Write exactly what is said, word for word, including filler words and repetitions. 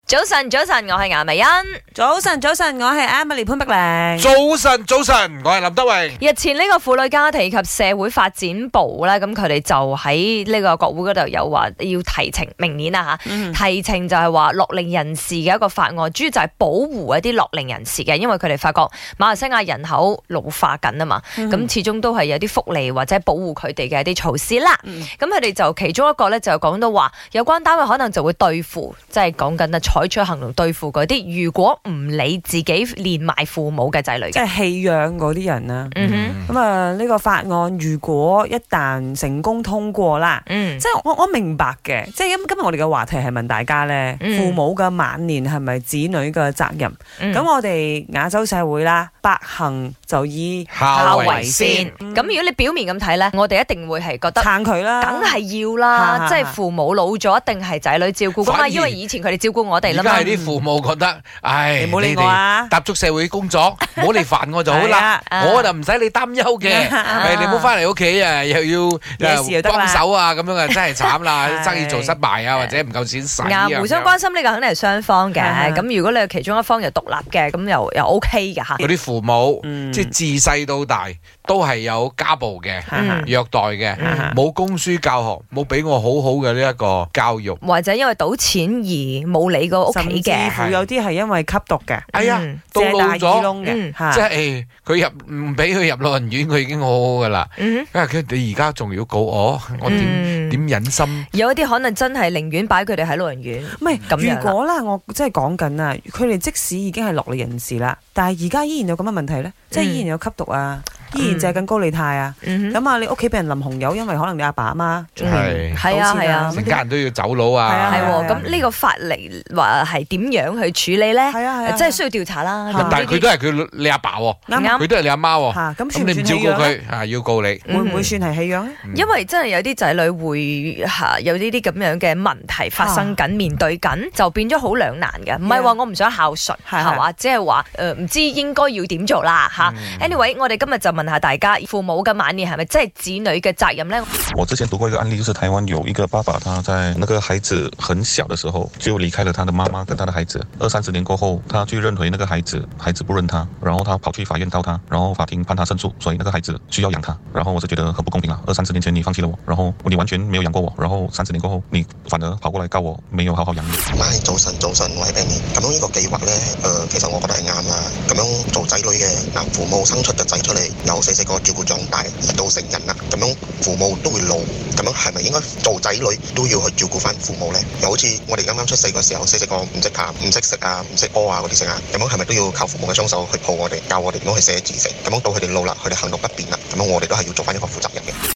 早晨，早晨，我係顏美欣。 早晨，早晨，我係 Emily 潘碧玲。 早晨，早晨，我係林德榮。 日前呢個婦女家庭及社會發展部咧，咁佢哋就喺呢個國會嗰度有話要提呈明年啊吓，嗯、提呈就係話樂齡人士嘅一個法案，主要就係保護一啲樂齡人士嘅，因為佢哋發覺馬來西亞人口老化緊啊嘛，咁、嗯、始終都係有啲福利或者保護佢哋嘅一啲措施啦。咁佢哋就其中一個咧就講到話，有關單位可能就會對付，即係講緊啊。採取行動對付嗰啲，如果唔理自己連埋父母嘅仔女， 即係棄養嗰啲人啦。 嗯哼， 咁啊呢個法案如果一旦成功通過啦，嗯，即係我我明白嘅，即係今今日我哋嘅話題係問大家咧，嗯、父母嘅晚年係咪子女嘅責任？咁、嗯、我哋亞洲社會啦，百行就以孝為先。咁、嗯、如果你表面咁睇咧，我哋一定會係覺得撐佢啦，梗係要啦，即係父母老咗，一定係仔女照顧噶嘛，因為以前佢哋照顧我哋。 而家係啲父母覺得，唉， 你唔好理我啊， 踏足社會工作，唔好嚟煩我就好啦，我就唔使你擔憂嘅。誒，你唔好翻嚟屋企啊，又要幫手啊，咁樣啊，真係慘啦，生意做失敗啊，或者唔夠錢使啊。 互相關心呢個肯定係雙方嘅，咁如果你係其中一方又獨立嘅，咁又又 OK 嘅嚇。 嗰啲父母即係自細到大都係有家暴嘅、虐待嘅，冇供書教學，冇俾我好好嘅呢一個教育， 或者因為賭錢而冇理過屋企嘅， 甚至乎有啲係因為吸毒嘅， 係啊，到老咗嘅， 即係佢入唔俾佢入老人院，佢已經好好噶啦。因為佢你而家仲要告我，我點點忍心？ 有一啲可能真係寧願擺佢哋喺老人院。 唔係咁樣。如果啦，我即係講緊啊，佢哋即使已經係樂齡人士啦，但係而家依然有咁嘅問題咧，即係依然有吸毒啊。依然借緊高利貸啊！咁啊，你屋企俾人淋紅油，因為可能你阿爸阿媽係係啊係啊， 成家人都要走佬啊！ 係喎，咁呢個法例話係點樣去處理咧？係啊係啊，即係需要調查啦。 但係佢都係佢你阿爸喎，啱，佢都係你阿媽喎。咁你唔照顧佢啊，要告你， 會唔會算係棄養咧？ 因為真係有啲仔女會嚇有呢啲咁樣嘅問題發生緊，面對緊就變咗好兩難嘅。唔係話我唔想孝順係嘛，即係話誒唔知應該要點做啦嚇。Anyway，我哋今日就問下大家，父母嘅晚年係咪真係子女嘅責任呢？ 我之前讀過一個案例，就是台灣有一個爸爸，他在那個孩子很小的時候就離開了他的媽媽跟他的孩子，二三十年過後，他去認回那個孩子，孩子不認他，然後他跑去法院告他，然後法庭判他勝訴，所以那個孩子需要養他。然後我是覺得很不公平啊！二三十年前你放棄了我，然後你完全沒有養過我，然後三十年過後你反而跑過來告我沒有好好養你。 喂，早晨早晨，我係 Benny。咁樣呢個計劃呢，誒、呃，其實我覺得係啱啦。咁樣做仔女嘅，嗱，父母生出個仔出嚟，由細細個照顧長大，而到成人啦，咁樣父母都會老，咁樣係咪應該做仔女都要去照顧翻父母呢？又好似我哋啱啱出世嘅時候，細細個唔識爬、唔識食啊、唔識屙啊嗰啲剩啊，咁樣係咪都要靠父母嘅雙手去抱我哋，教我哋點樣去寫字食？咁樣到佢哋老啦，佢哋行動不便啦，咁樣我哋都係要做翻一個負責人嘅。